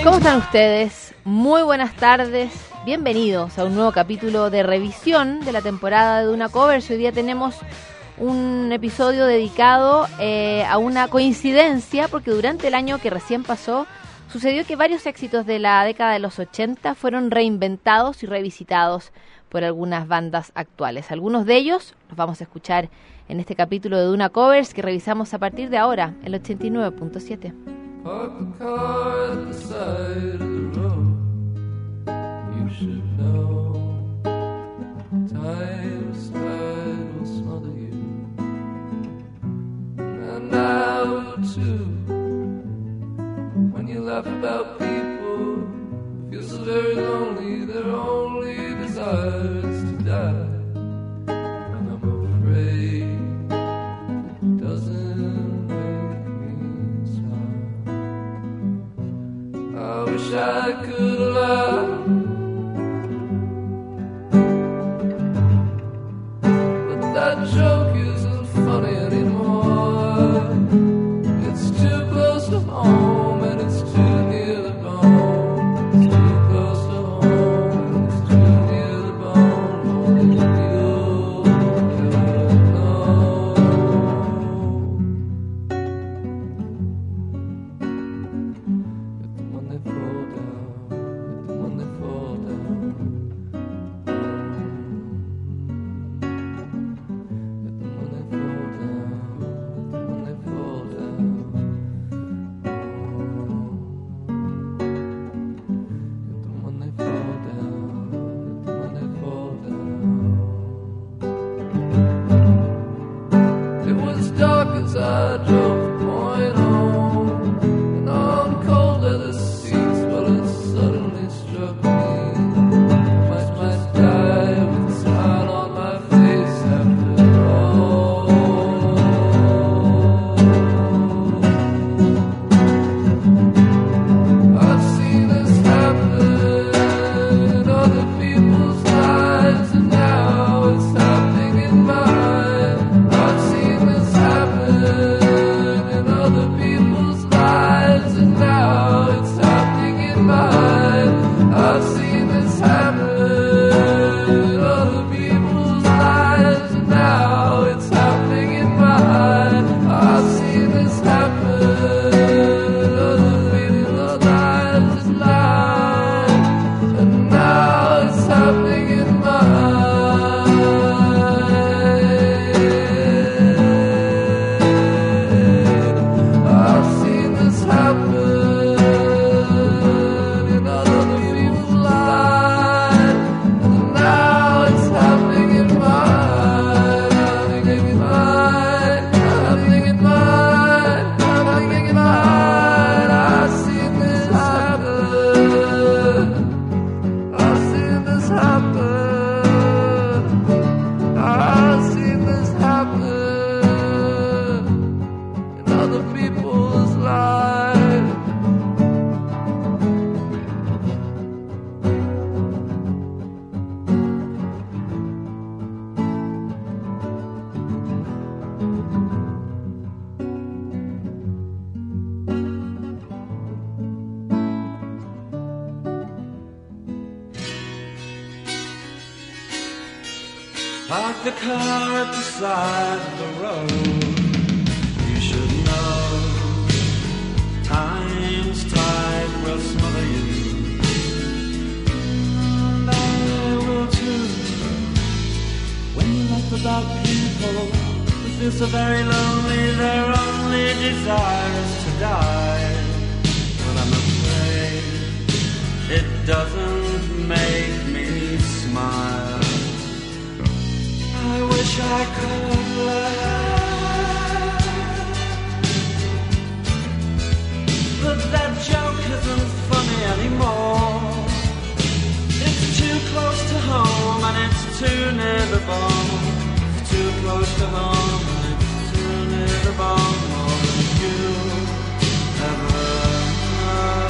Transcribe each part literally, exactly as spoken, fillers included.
¿Cómo están ustedes? Muy buenas tardes. Bienvenidos a un nuevo capítulo de revisión de la temporada de Duna Covers. Hoy día tenemos un episodio dedicado eh, a una coincidencia, porque durante el año que recién pasó sucedió que varios éxitos de la década de los ochenta fueron reinventados y revisitados por algunas bandas actuales. Algunos de ellos los vamos a escuchar en este capítulo de Duna Covers que revisamos a partir de ahora, el ochenta y nueve punto siete. Park the car at the side of the road. You should know time's tide will smother you. And now too, when you laugh about people, feel so very lonely. Their only desire is to die. And I'm afraid it doesn't make me smile. I wish I could laugh, but that joke isn't funny anymore. It's too close to home and it's too near the bone. It's too close to home and it's too near the bone. More than you ever know. Hit them when they fall down. Hit them when they fall down. Hit them when they fall down. Hit them when they fall down. Hit them when they fall down. Hit them when they fall down. It was dark as I drove the point home, and on cold leather seats, well, it suddenly struck me. I might, might die with a smile on my face after all. I've seen this happen in other people's lives, and now it's happening in mine. I've seen this happen in other people's lives, and now it's happening in mine. I've seen this happen in other people's lives, and now it's happening in mine. I've seen this happen in other people's lives, and mine, and now it's happening in mine. I've seen this happen in other people's lives, and now it's happening in mine. Happening in mine, happening in mine, happening in mine. I've seen this happen. I've seen this happen. I've seen this happen in other people's lives. Park the car at the side of the road. You should know time's tide will smother you. And I will too. When you laugh about people who feel so very lonely, their only desire is to die. Well, I'm afraid it doesn't make me smile. I wish I could laugh, but that joke isn't funny anymore. It's too close to home and it's too near the bone. It's too close to home and it's too near the bone. More than you ever know.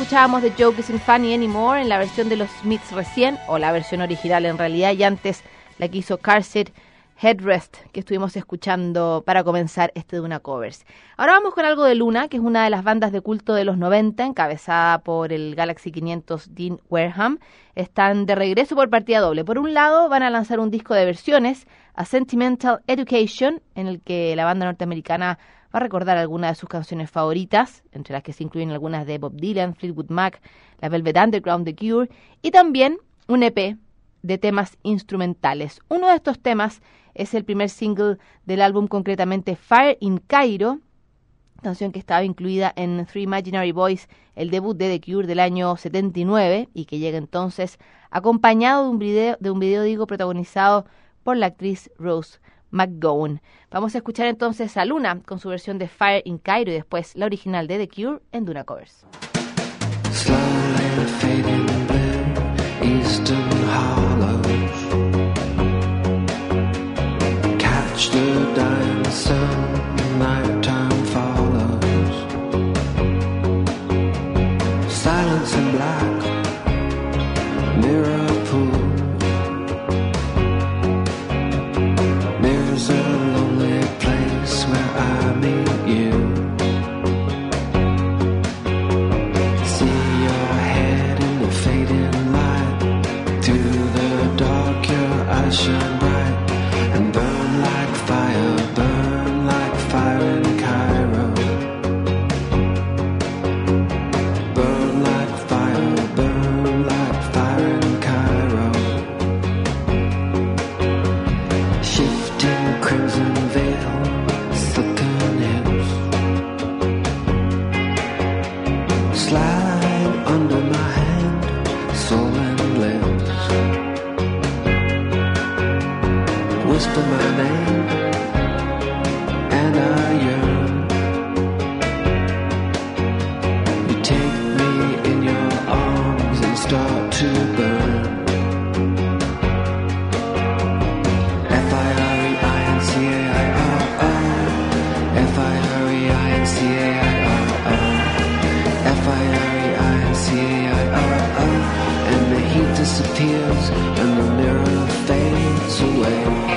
escuchábamos The Joke Isn't Funny Anymore en la versión de los Smiths recién, o la versión original en realidad, y antes la que hizo Car Seat Headrest, que estuvimos escuchando para comenzar este Duna Covers. Ahora vamos con algo de Luna, que es una de las bandas de culto de los noventa, encabezada por el Galaxy quinientos Dean Wareham. Están de regreso por partida doble. Por un lado, van a lanzar un disco de versiones, A Sentimental Education, en el que la banda norteamericana va a recordar algunas de sus canciones favoritas, entre las que se incluyen algunas de Bob Dylan, Fleetwood Mac, la Velvet Underground, The Cure, y también un E P de temas instrumentales. Uno de estos temas es el primer single del álbum, concretamente Fire in Cairo, canción que estaba incluida en Three Imaginary Boys, el debut de The Cure del año setenta y nueve, y que llega entonces acompañado de un video, de un video digo, protagonizado por la actriz Rose McGowan. Vamos a escuchar entonces a Luna con su versión de Fire in Cairo y después la original de The Cure en Duna Covers. Slowly fading blue, eastern hollows. Catch the dying sun, nighttime follows. Silence and black, mirror pool. There's a lonely place where I meet you. See your head in the fading light. Through the dark your eyes shine bright and burn like fire, burn like fire in Cairo. Burn like fire, burn like fire in Cairo. Shifting crimson veil, silken hips. Slide under my hand, sullen lips. Whisper my name, and I yearn. You take me in your arms and start to burn. F I R E I N C A I R O. F I R E I N C A I R O. F I R E I N C A I R O. And the heat disappears and the mirror fades away.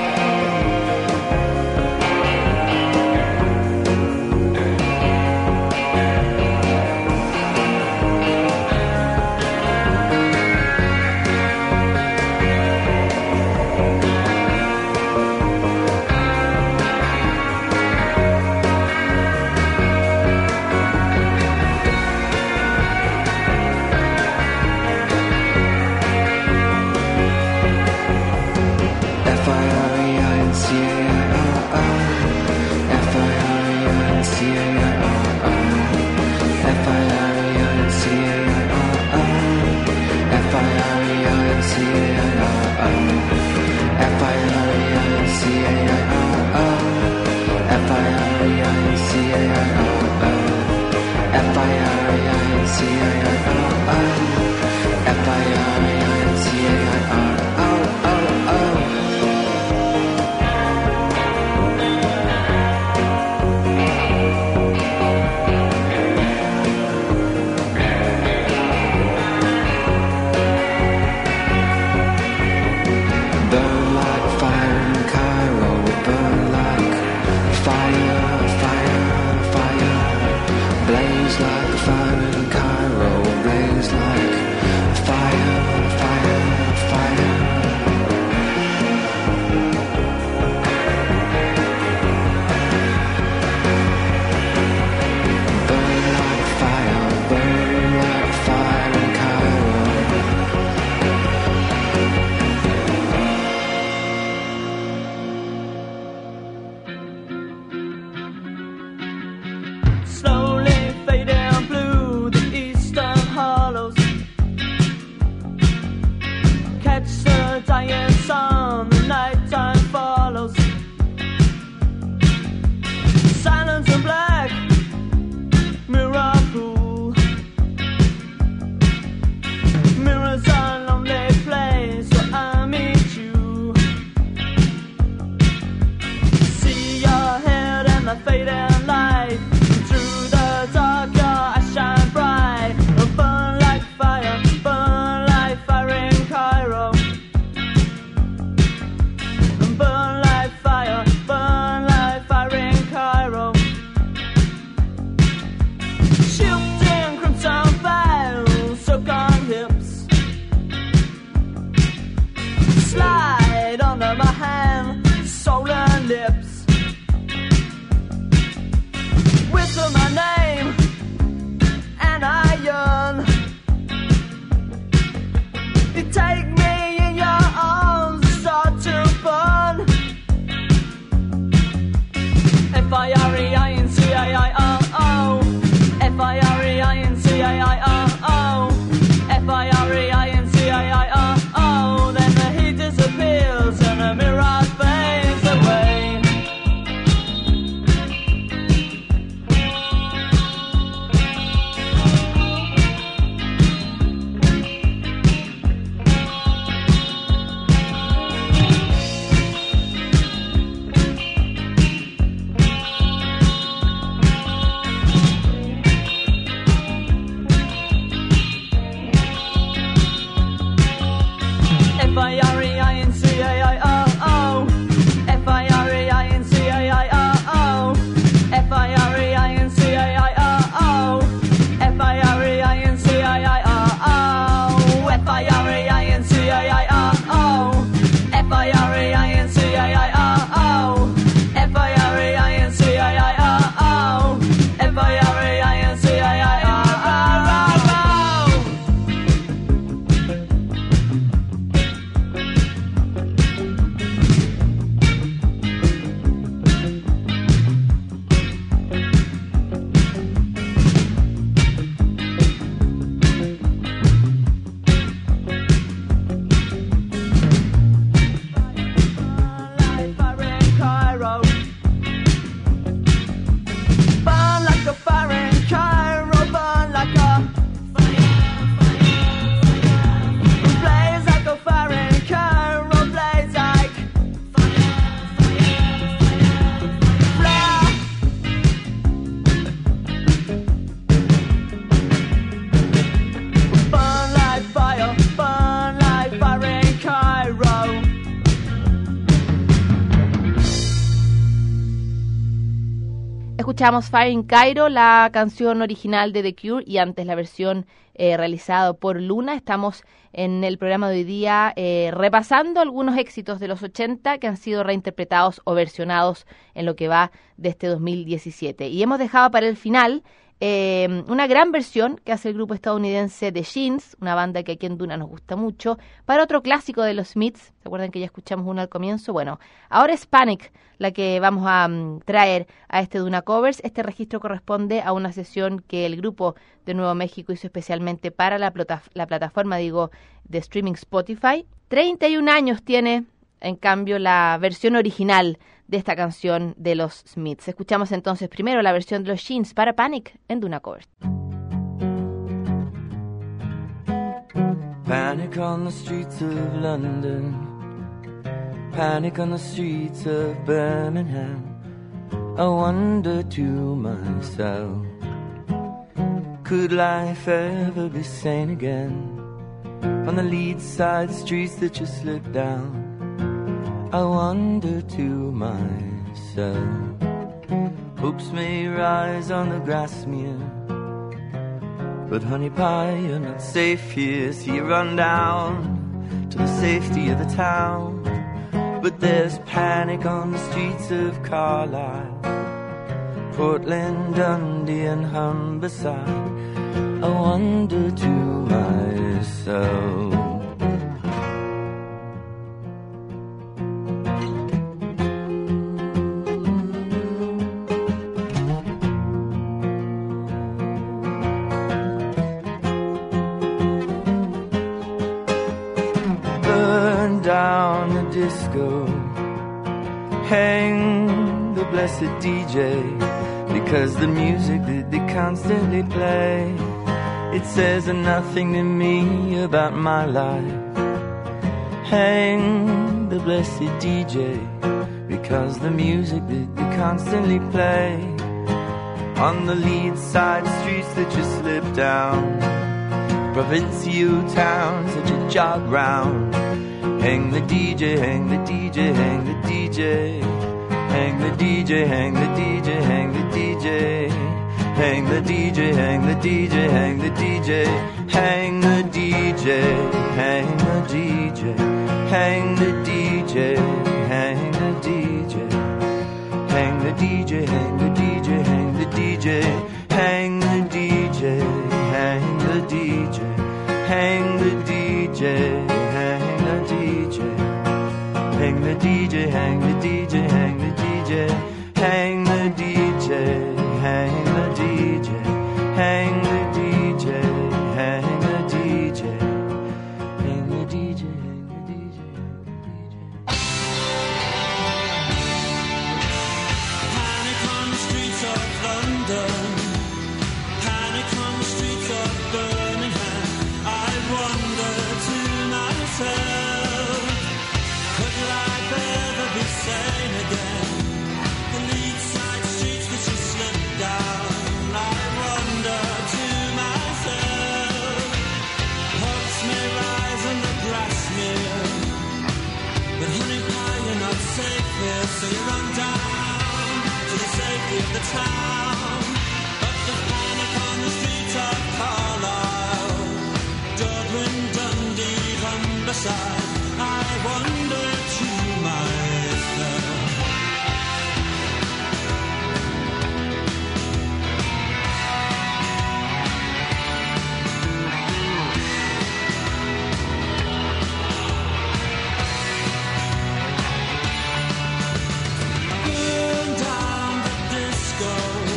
Blaze like fire in Cairo, blaze like Escuchamos Fire in Cairo, la canción original de The Cure, y antes la versión eh, realizada por Luna. Estamos en el programa de hoy día eh, repasando algunos éxitos de los ochenta que han sido reinterpretados o versionados en lo que va de este dos mil diecisiete. Y hemos dejado para el final eh, una gran versión que hace el grupo estadounidense The Shins, una banda que aquí en Duna nos gusta mucho, para otro clásico de los Smiths. ¿Se acuerdan que ya escuchamos uno al comienzo? Bueno, ahora es Panic la que vamos a um, traer a este Duna Covers. Este registro corresponde a una sesión que el grupo de Nuevo México hizo especialmente para la, plata la plataforma, digo, de streaming Spotify. treinta y un años tiene, en cambio, la versión original de esta canción de los Smiths. Escuchamos entonces primero la versión de los Shins para Panic en Duna Covers. Panic on the streets of London, panic on the streets of Birmingham. I wonder to myself, could life ever be sane again? On the lead side streets that you slip down, I wonder to myself, hopes may rise on the Grasmere, but honey pie, you're not safe here, so you run down to the safety of the town. But there's panic on the streets of Carlisle, Portland, Dundee and Humberside. I wonder to myself, disco, hang the blessed D J, because the music that they constantly play, it says nothing to me about my life. Hang the blessed D J, because the music that they constantly play, on the lead side streets that you slip down, provincial towns that you jog round. Hang the D J, hang the D J, hang the D J, hang the D J, hang the D J, hang the D J, hang the D J, hang the D J, hang the D J, hang the D J, hang the D J, hang the D J, hang the D J, hang the D J, hang the D J, hang the D J, hang the D J, hang the D J, hang the D J. Hang the D J, hang the D J, hang the D J, hang the D J, hang the D J, hang the D J, hang the D J, hang the D J, hang the D J, hang the D J. Panic on the streets of London, panic on the streets of Birmingham. I wonder to myself, could life ever be sane again? The lead side streets that you slip down, I wonder to myself, hopes may rise in the Grasmere, but honey pie, you're not safe here, so you run down to the safety of the town. But there's panic on the streets of Carlisle, Dublin, Dundee, Humberside. I wonder to myself, burn down the disco,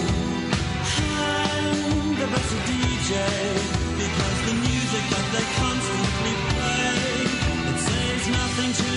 hang the best D J, because the music that they constantly play, nothing to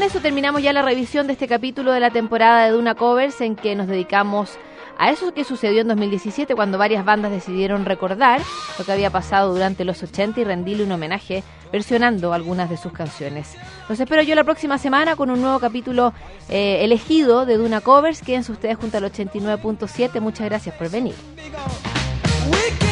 eso terminamos ya la revisión de este capítulo de la temporada de Duna Covers, en que nos dedicamos a eso que sucedió en dos mil diecisiete, cuando varias bandas decidieron recordar lo que había pasado durante los ochenta y rendirle un homenaje versionando algunas de sus canciones. Los espero yo la próxima semana con un nuevo capítulo eh, elegido de Duna Covers. Quédense ustedes junto al ochenta y nueve punto siete. Muchas gracias por venir. We